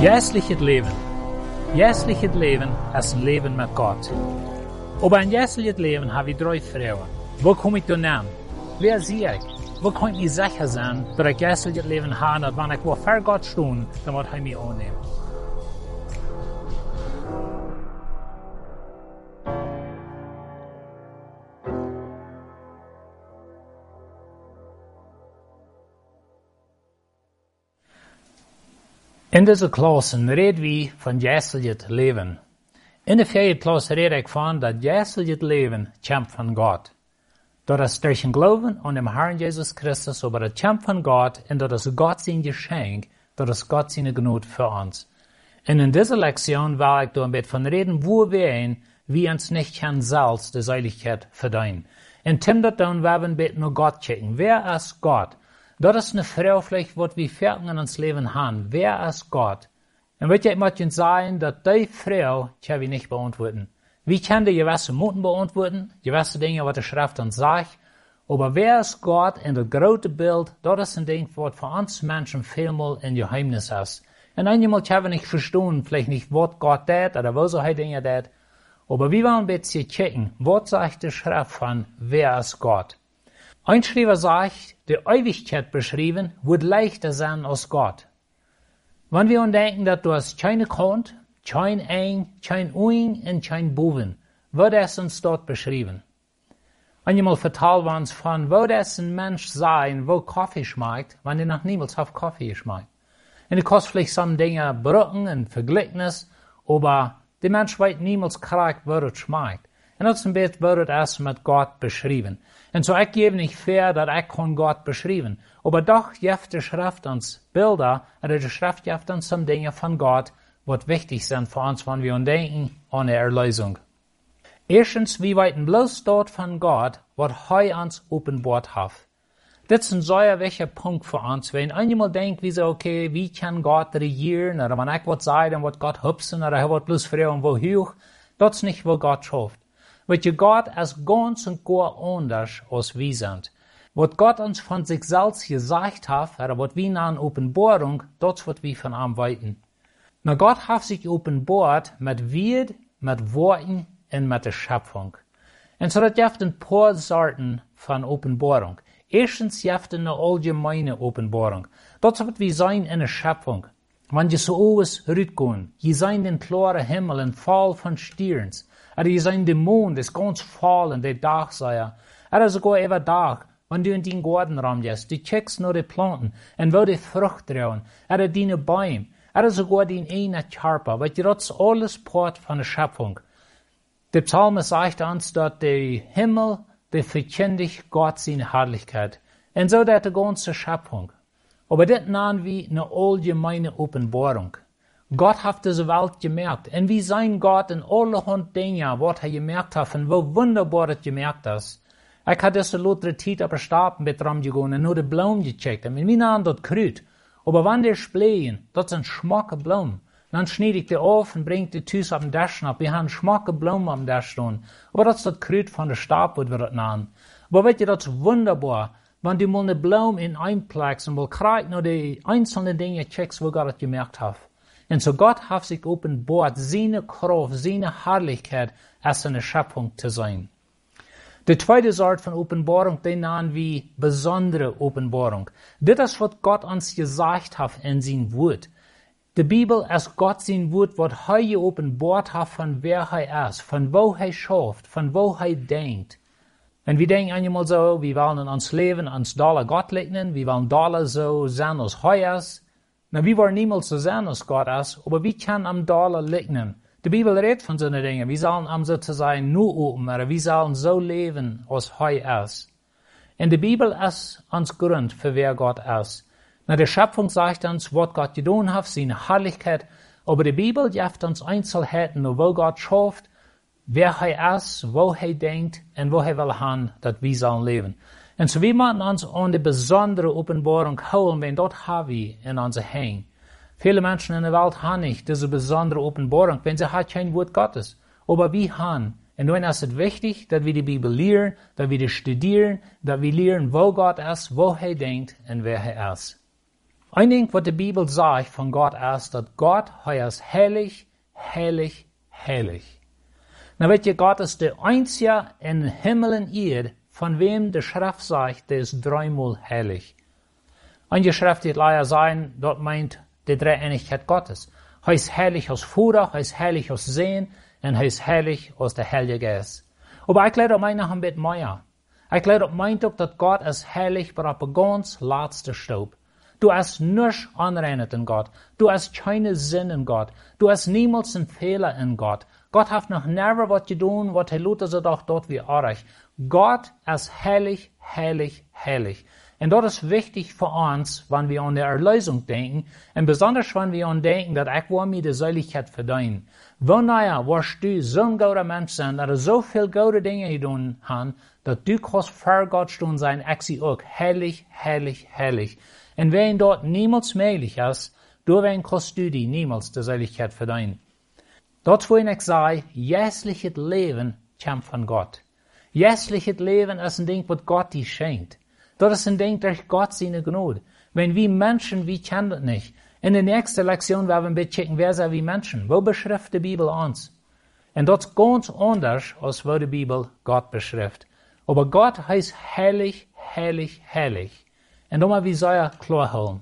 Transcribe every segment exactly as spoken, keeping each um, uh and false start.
Geistliches Leben. Geistliches Leben ist ein Leben mit Gott. Aber ein geistliches Leben habe ich drei Fragen. Wo komme ich nehmen? Wer sehe ich? Wo kann ich sicher sein, dass ich geistliches Leben habe, und wenn ich wo vor Gott stehe, dann wird er mich annehmen. In dieser Klasse reden wir von geistlichem Leben. In der vierten Klasse rede ich von, dass geistliches Leben kommt von Gott. Das ist durch den Glauben an den Herrn Jesus Christus, aber das kommt von Gott, und das ist Gott sein Geschenk, das ist Gott seine Gnade für uns. Und in dieser Lektion will ich da ein bisschen von reden, wo wir ein, wie uns nicht kann selbst die Seiligkeit verdienen. Und Tim dat dann wir ein bisschen nur Gott checken. Wer ist Gott? Das ist eine Frau, vielleicht, was wir Ferien in uns Leben haben. Wer ist Gott? Und wird ja immer sagen, dass die Frau kann wir nicht beantworten. Wir können die gewisse Muten beantworten, gewisse Dinge, was die Schrift uns sagt. Aber wer ist Gott in das große Bild? Das ist ein Ding, was für uns Menschen vielmal ein Geheimnis ist. Und einmal können wir nicht verstehen, vielleicht nicht, was Gott tät, oder wo so he Dinge tät. Aber wir wollen ein bisschen checken, was sagt die Schrift von, wer ist Gott? Ein Schreiber sagt, die Ewigkeit beschrieben, wird leichter sein als Gott. Wenn wir uns denken, dass du hast keine Kant, kein Eng, kein Uing und kein Boven, wird es uns dort beschrieben. Einmal vertellen wir uns von, wo das ein Mensch sein, wo Kaffee schmeckt, wenn er noch niemals auf Kaffee schmeckt. Und du kannst vielleicht some Dinge brücken und Vergleichnis, aber der Mensch weiß niemals korrekt, wo es schmeckt. Und das wird es erst mit Gott beschrieben. Und so ich gebe nicht fair, dass ich kann Gott beschrieben. Aber doch gibt die Schrift uns Bilder, oder die Schrift gibt uns some Dinge von Gott, was wichtig sind für uns, wenn wir uns denken an die Erlösung. Erstens, wir weiten bloß dort von Gott, was er uns offenbart hat. Das ist ein sehr wichtiger Punkt für uns. Wenn einmal denkt, wie so, okay, wie kann Gott regieren, oder wenn ich was sage, dann wird Gott hüpfen, oder er wird bloß fragen, wo hoch, das ist nicht, wo Gott schafft. Weil Gott ist ganz und gar anders als wir sind. Was Gott uns von sich selbst gesagt hat, oder was wir nach Offenbarung, das wird wir von ihm weiten. Na, Gott hat sich offenbart mit Wort, mit Worten und mit der Schöpfung. Und so das gibt ein paar Sorten von Offenbarung. Erstens gibt eine allgemeine Offenbarung. Das wird wie sein in der Schöpfung. Wenn je so alles rütgehen, je sein den klaren Himmel und Fall von Sterns, oder je sein den Mond, ist ganz voll in der Tag sei, oder sogar über Tag, wenn du in den Gartenraum gehst, du checkst nur die Planten, und wo die Frucht trauen, oder deine Bäume, oder sogar den einen Körper, weil das alles Part von der Schöpfung. Der Psalm sagt uns, dass der Himmel, der verkündigt Gott seine Herrlichkeit, und so dass die ganze Schöpfung. Aber das nennen wir eine allgemeine Offenbarung. Gott hat diese Welt gemerkt. Und wie sein Gott in allerhand Dinge, was er gemerkt hat, und wo wunderbar es gemerkt ist. Ich habe diese Lotre Zeit aber starten mit dran gegangen und nur die Blumen gecheckt. Und wir nennen das Krüt. Aber wenn die spähen, das sind schmacke Blumen. Dann schneide ich die auf und bringe die Tüß auf den Tisch ab. Wir haben schmacke Blumen am Tisch stehen. Aber das ist das Krüt von der Stab, was wir das nennen. Aber weißt du, das ist wunderbar. Wenn du mal eine Blume in einpflegst und mal kriegst nur die einzelnen Dinge checkst, wo Gott das gemerkt hat. Und so Gott hat sich offenbart, seine Kraft, seine Herrlichkeit, als eine Schöpfung zu sein. Die zweite Sorte von Offenbarung, den nennen wir besondere Offenbarung. Das ist, was Gott uns gesagt hat in sein Wort. Die Bibel ist Gott sein Wort, was er offenbart hat, von wer er ist, von wo er schafft, von wo er denkt. Und wir denken einmal so, wir wollen in uns Leben uns Dollar Gott liegen, wir wollen Dollar so sein, als er ist. Na, wir wollen niemals so sein, als Gott ist, aber wir können am Dollar liegen. Die Bibel redet von solchen Dingen. Wir sollen am sozusagen nur oben, oder wir sollen so leben, als er ist. Und die Bibel ist uns Grund, für wer Gott ist. Na, die Schöpfung sagt uns, was Gott getan hat, seine Herrlichkeit, aber die Bibel gibt uns Einzelheiten, wo Gott schafft, wer er ist, wo er denkt, und wo er will haben, dass wir sollen leben. Und so wir müssen uns an die besondere Offenbarung holen, wenn dort haben wir in unser Hang. Viele Menschen in der Welt haben nicht diese besondere Offenbarung, wenn sie hat kein Wort Gottes. Aber wir haben. Und nun ist es wichtig, dass wir die Bibel lernen, dass wir die studieren, dass wir lernen, wo Gott ist, wo er denkt und wer er ist. Ein Ding, was die Bibel sagt von Gott ist, dass Gott heißt heilig, heilig, heilig. Na weet je, Gott ist der Einzige in Himmel und Erde, von wem die Schrift sagt, der ist dreimal heilig. Einige Schrift, die leider sein, dort meint die Dreieinigkeit Gottes. Er ist heilig aus Vater, er ist heilig aus Sehen, und er ist heilig aus der Heilige Geist. Aber ich glaube, meine noch ein bisschen mehr. Ich glaube, meint auch, dass Gott ist heilig, aber auf ganz letzter Staub. Du hast nichts anreinet in Gott. Du hast keine Sinn in Gott. Du hast niemals einen Fehler in Gott. Gott hat noch never was getan, was er Luther so doch dort wie euch. Gott ist heilig, heilig, heilig. Und das ist wichtig für uns, wenn wir an die Erlösung denken, und besonders wenn wir an denken, dass ich will mir die Seiligkeit verdienen. Wenn naja, wirst du so ein guter Mensch sein, dass er so viel gute Dinge getan hat, dass du kannst vor Gott stehen sein, ich sie auch heilig, heilig, heilig. Und wenn dort niemals möglich ist, du wen kannst du die niemals die Seiligkeit verdienen. Dort wo ich sage, jährliches Leben kommt von Gott. Jährliches Leben ist ein Ding, was Gott dir schenkt. Das ist ein Ding durch Gott seine Gnade. Wenn wir Menschen, wir kennen das nicht. In der nächsten Lektion werden wir ein bisschen checken, wer sind wir Menschen? Wo beschreibt die Bibel uns? Und das ist ganz anders, als wo die Bibel Gott beschreibt. Aber Gott heißt heilig, heilig, heilig. Und da mal wie soll er klar holen.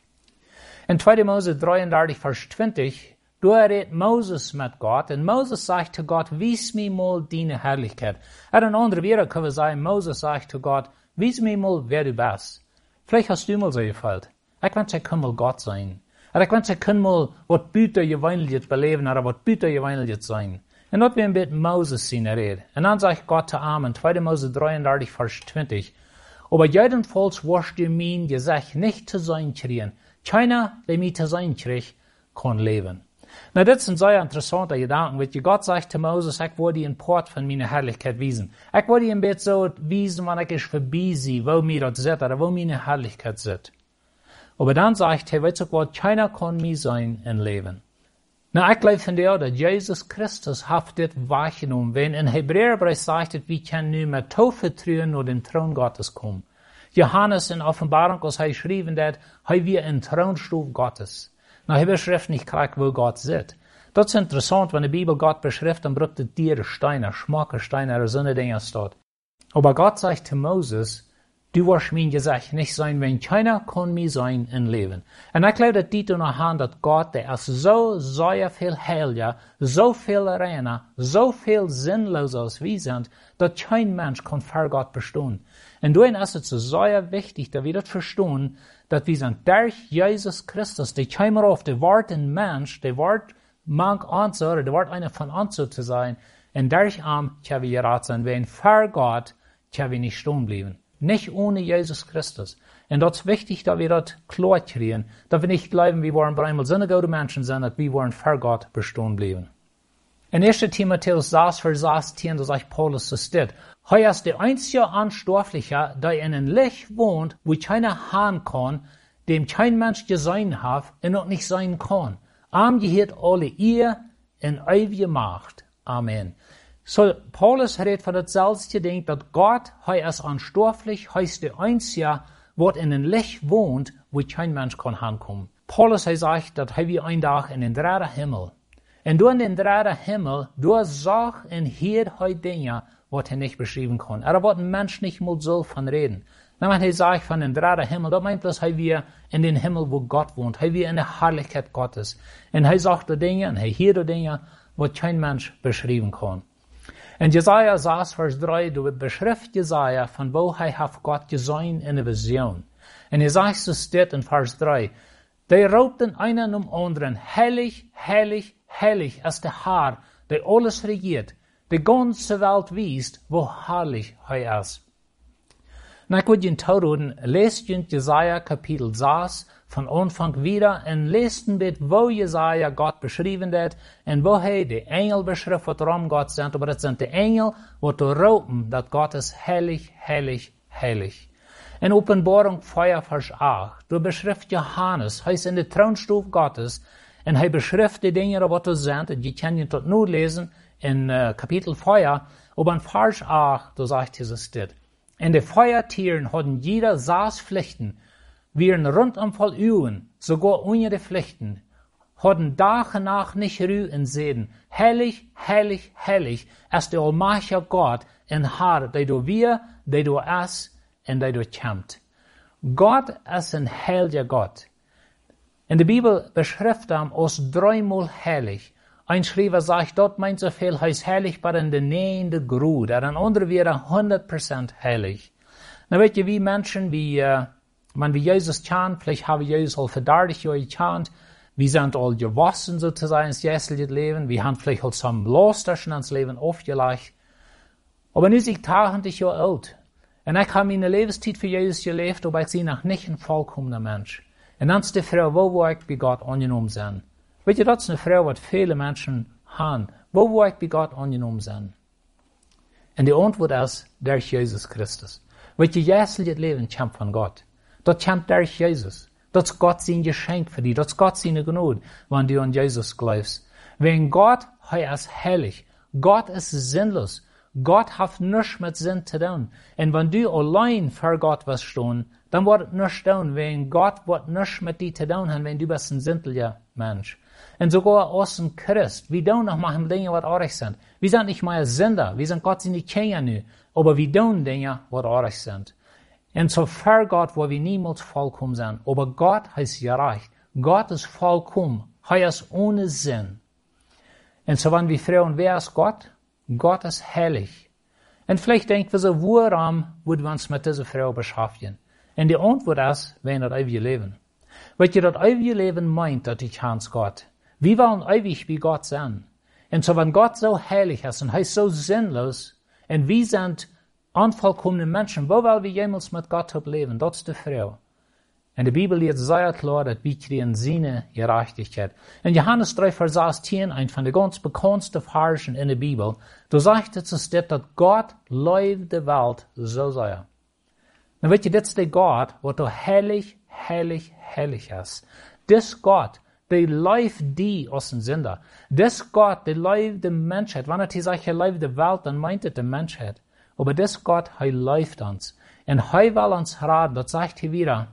In zweiter Mose dreiunddreißig, Vers zwanzig, da redet Moses mit Gott, und Moses sagt zu Gott, wies mir mal deine Herrlichkeit. An einer anderen Wieder können wir sagen, Moses sagt zu Gott, wies mir mal, wer du bist. Vielleicht hast du mal so gefällt. Ich wünsche, ich kann mal Gott sein. Und ich wünsche, ich kann mal, was büter je weinliches beleben, oder was büter je weinliches sein. Und dort wir mit Moses sehen reden. Und dann sagt Gott zu ihm, in zweiter Mose dreiunddreißig, Vers zwanzig, aber jedenfalls wirst du mein Gesicht nicht zu sein kriegen. Keiner, der mir zu sein kriegt, kann leben. Na, das sind sehr interessante Gedanken, weil Gott sagt zu Moses, ich will dir einen Port von meiner Herrlichkeit wiesen. Ich will dir ein bisschen so wiesen, wenn ich vorbei sehe, wo mir das sitzt, oder wo meine Herrlichkeit sitzt. Aber dann sagt er, weißt du was, keiner kann mir sein im Leben. Na, ich glaube von dir, dass Jesus Christus hat das wahrgenommen, wenn in Hebräerbrief sagt, wir können nur mit Taufvertrauen nur den Thron Gottes kommen. Johannes in Offenbarung, als er geschrieben hat, haben wir einen Thronstuhl Gottes. Na, er beschreibt nicht gleich, wo Gott sitzt. Das ist interessant, wenn die Bibel Gott beschreibt, dann braucht es Tiere, Steine, Schmucke, Steine, oder so eine Dinge steht. Aber Gott sagt zu Moses, du wirst mein Gesicht nicht sein, wenn keiner kann mir sein im Leben. Und ich glaube, dass die tun an, dass Gott, der ist so sehr viel heiliger, so viel reiner, so viel sinnloser als wir sind, dass kein Mensch kann vor Gott bestehen. Und daher ist es so sehr wichtig, dass wir das verstehen, dass wir sind durch Jesus Christus, der kam auf, der Wort ein Mensch, der Wort mag uns, oder der Wort einer von uns zu sein, und durch ihn können wir gerettet sein. Wenn vor Gott, können wir nicht stehen bleiben. Nicht ohne Jesus Christus. Und das ist wichtig, dass wir das klar kriegen, dass wir nicht glauben, wir wollen einmal so eine gute Menschen sein, dass wir wollen vor Gott bestehen bleiben. In erster Timotheus sechs, Vers sechzehn, da sagt Paulus, so steht, er ist der einzige Unsterbliche, der in einem Licht wohnt, wo keiner haben kann, dem kein Mensch gesehen hat und auch nicht sein kann. Ihm gehört alle ihr in ewige Macht. Amen. So, Paulus redet von das selbste Ding, dass Gott, er ist unsterblich, er ist der Einzige, der in einem Licht wohnt, wo kein Mensch kann hinkommen. Paulus hat sagt, dass wir einen Tag in den dritten Himmel. Und du in den dritten Himmel, du sagst und hört heute Dinge, was er nicht beschreiben kann. Er wird ein Mensch nicht mal so von reden. Wenn er sagt von den dritten Himmel, das meint das, dass wir in den Himmel, wo Gott wohnt, dass wir in der Herrlichkeit Gottes. Und er sagt die Dinge, und er hört die Dinge, was kein Mensch beschreiben kann. In Jesaja sechs, Vers drei, du beschrift Jesaja, von wo er hat Gott gesehen in der Vision. Und er sagt, so steht in Vers drei, die raubten einen um anderen, heilig, heilig, heilig ist der Herr, der alles regiert, die ganze Welt wisst, wo herrlich er ist. Na, ich würde Ihnen tauchen, lest in Jesaja Kapitel sechs von Anfang wieder und lest ein bisschen, wo Jesaja Gott beschrieben hat und wo er die Engel beschrieben hat, warum Gott sind, aber das sind die Engel, die rauben, dass Gott ist heilig, heilig, heilig. In Offenbarung vier, Vers acht, du beschrift Johannes, er ist in der Thronstuhl Gottes, und er beschrift die Dinge, die da sind, und die können ihr dort nur lesen, in uh, Kapitel vier, aber in Vers acht, da sagt Jesus steht, und die Feuertieren hatten jeder sechs Pflichten, wären rundum voll Uhren, sogar ohne die Pflichten, hatten Tag und Nacht nicht Ruhe in Seden. Heilig, heilig, heilig, ist der allmächtige Gott in Herr, der du wir, der du es und der du kämpft. Gott ist ein heiliger Gott. In der Bibel beschreibt er als dreimal heilig. Ein Schreiber sagt, dort meint so viel, er ist heilig, aber in der nähende Grund. Ein anderer wäre hundert Prozent heilig. Na weet je, wie Menschen, wie, uh, man wie Jesus kennt, vielleicht haben Jesus al verdreißig Jahre gekannt, wir sind all gewachsen sozusagen ins jährliche Leben, wir haben vielleicht halt some Losterschen ans Leben aufgelegt. Aber nu sind ich tausend Jahre alt. Und ich habe meine Lebenszeit für Jesus gelebt, aber ich sehe noch nicht ein vollkommener Mensch. Und dann ist die Frau, wo wo ich bei Gott angenommen sein? Weet je, das ist eine Frau, was viele Menschen haben. Wo wo ich bei Gott angenommen sein? Und die Antwort ist, durch Jesus Christus. Weet je, jährliche Leben kommt von Gott. Das kommt durch Jesus. Das ist Gott sein Geschenk für dich. Das ist Gott seine Gnade, wenn du an Jesus glaubst. Wenn Gott, er ist heilig. Gott ist sinnlos. Gott hat nichts mit Sinn zu tun. Und wenn du allein für Gott was tun, dann wird es nichts tun. Wenn Gott wird nichts mit dir zu tun haben, wenn du bist ein sinnlicher Mensch. Und sogar als ein Christ, wir tun noch machen Dinge, was arg sind. Wir sind nicht mehr Sünder, wir sind Gott seine Kinder nu, aber wir tun Dinge, was arg sind. Und so für Gott, wo wir niemals vollkommen sind. Aber Gott ist gerecht. Gott ist vollkommen. Er ist ohne Sinn. Und so wenn wir fragen, wer ist Gott? Gott ist heilig. Und vielleicht denken wir so, woran würden wir uns mit dieser Frau beschäftigen? Und die Antwort ist, wenn das ewige Leben. Weil ihr das ewige Leben meint, dass ich hans Gott. Wir wollen ewig wie Gott sein. Und so wenn Gott so heilig ist und er ist so sinnlos, und wir sind unvollkommene Menschen, wo wollen wir jemals mit Gott leben? Das ist die Frau. Und die Bibel lehrt sehr klar, dass wir kriegen seine Gerechtigkeit. In Johannes drei, Vers achtzehn, ein von den ganz bekanntesten Versen in der Bibel, da sagt es, dass Gott liebt die Welt so sehr. Dann weet je, das ist der Gott, der heilig, heilig, heilig ist. Das Gott, der liebt die als ein Sünder. Das Gott, der liebt die Menschheit. Wenn er sagt, er liebt die Welt, dann meint er die Menschheit. Aber das Gott, er liebt uns. Und er will uns raten, das sagt er wieder.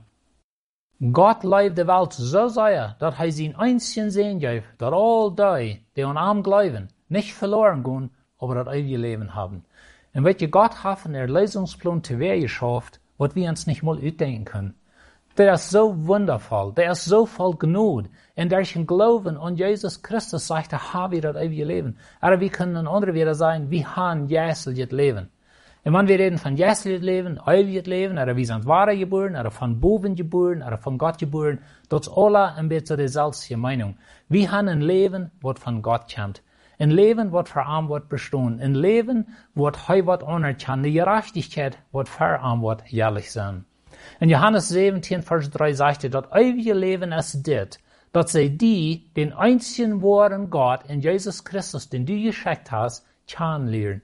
Gott liebt die Welt so sehr, dass er seinen einzigen Sohn gibt, dass all die, die an ihm glauben, nicht verloren gehen, aber das ewige Leben haben. Und weet je, Gott hat einen Erlösungsplan zu Wehr geschafft, was wir uns nicht mal ausdenken können. Der ist so wundervoll, der ist so voll Gnade. Und durch den Glauben an Jesus Christus sagt er, haben wir das ewige Leben. Aber wir können ein anderer wieder sagen, wir haben jährliches Leben. Und wenn wir reden von jährliches Leben, ewiges Leben, oder wir sind wahre geboren, oder von boven geboren, oder von Gott geboren, das ist alle ein bisschen dieselbe Meinung. Wir haben ein Leben, was von Gott kommt. Ein Leben, was für ihn wird bestehen. Ein Leben, was er wird anerkennen. Die Gerechtigkeit, was für ihn wird jährlich sein. In Johannes siebzehn, Vers drei sagt er, das ewige Leben ist das, dass sie die, den einzigen wahren Gott in Jesus Christus, den du geschickt hast, kennenlernen.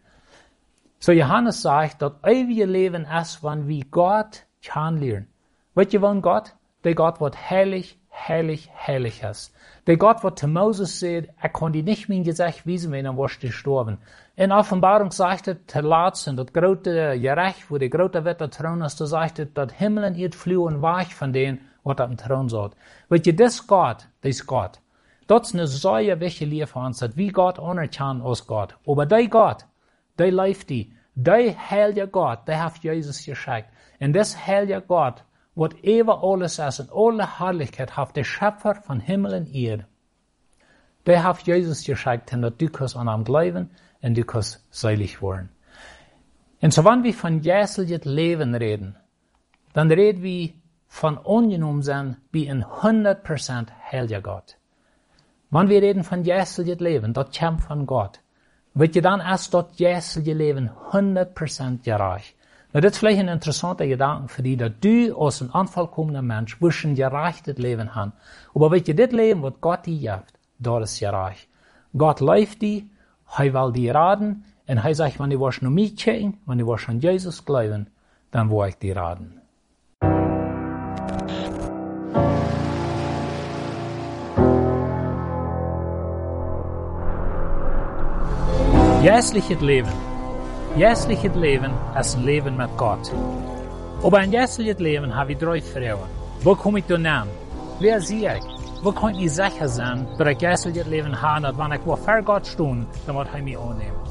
So Johannes sagt, das ewige Leben ist, wenn wir Gott kennenlernen. Weißt du, wann Gott? Der Gott wird heilig, heilig, heilig ist. Der Gott, was zu Moses sagt, er konnte nicht mein Gesicht wiesen, wenn er war gestorben. In Offenbarung sagt er, der Letzte, das große Gerecht, wo der große Wetter Thron ist, da sagt er, dass Himmel und Erd flohen weich von denen, was am Thron sagt. Weißt du, das Gott, das ist Gott. Das ist eine sehr wichtige Lehre für uns, dass wir Gott anerkennen als Gott. Aber der Gott, der lebt die. Der heilige Gott, der hat Jesus geschickt. Und das heilige Gott, was über alles ist und alle Herrlichkeit hat, der Schöpfer von Himmel und Erde. Der hat Jesus geschickt, und du kannst an ihm glauben und du kannst selig werden. Und so, wenn wir von jährlichem Leben reden, dann reden wir von ungenommen sein wie ein hundert Prozent heiliger Gott. Wenn wir reden von jährlichem Leben, das kommt von Gott. Weet je, dann ist das jährliche Leben hundert Prozent gerecht. Na, das ist vielleicht ein interessanter Gedanke für dich, dass du als ein unvollkommener Mensch wirst ein gerechtes Leben haben. Aber weet je, das Leben, was Gott dir gibt, das ist gerecht. Gott liebt dich, er will dir raten, und er sagt, wenn du wirst nur mich kicken, wenn du wirst an Jesus glauben, dann will ich dir raten. Jährliches Leben. Jährliches Leben ist ein Leben mit Gott. Aber ein jährliches Leben habe ich drei Fragen. Wo komme ich da nehmen? Wer sehe ich? Wo kann ich sicher sein, dass ich Jesus Leben habe, und wenn ich wo vor Gott stehe, dann wird er mich annehmen.